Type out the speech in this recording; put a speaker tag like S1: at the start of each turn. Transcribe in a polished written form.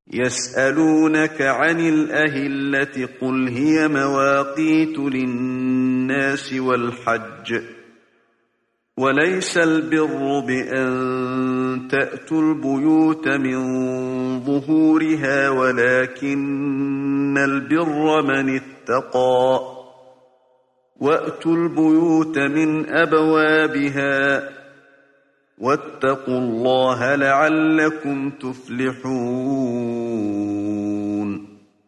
S1: يسألونك عن الأهلة قل هي مواقيت للناس والحج وليس البر بأن تأتوا البيوت من ظهورها ولكن البر من اتقى وأتوا البيوت من أبوابها واتقوا الله لعلكم تفلحون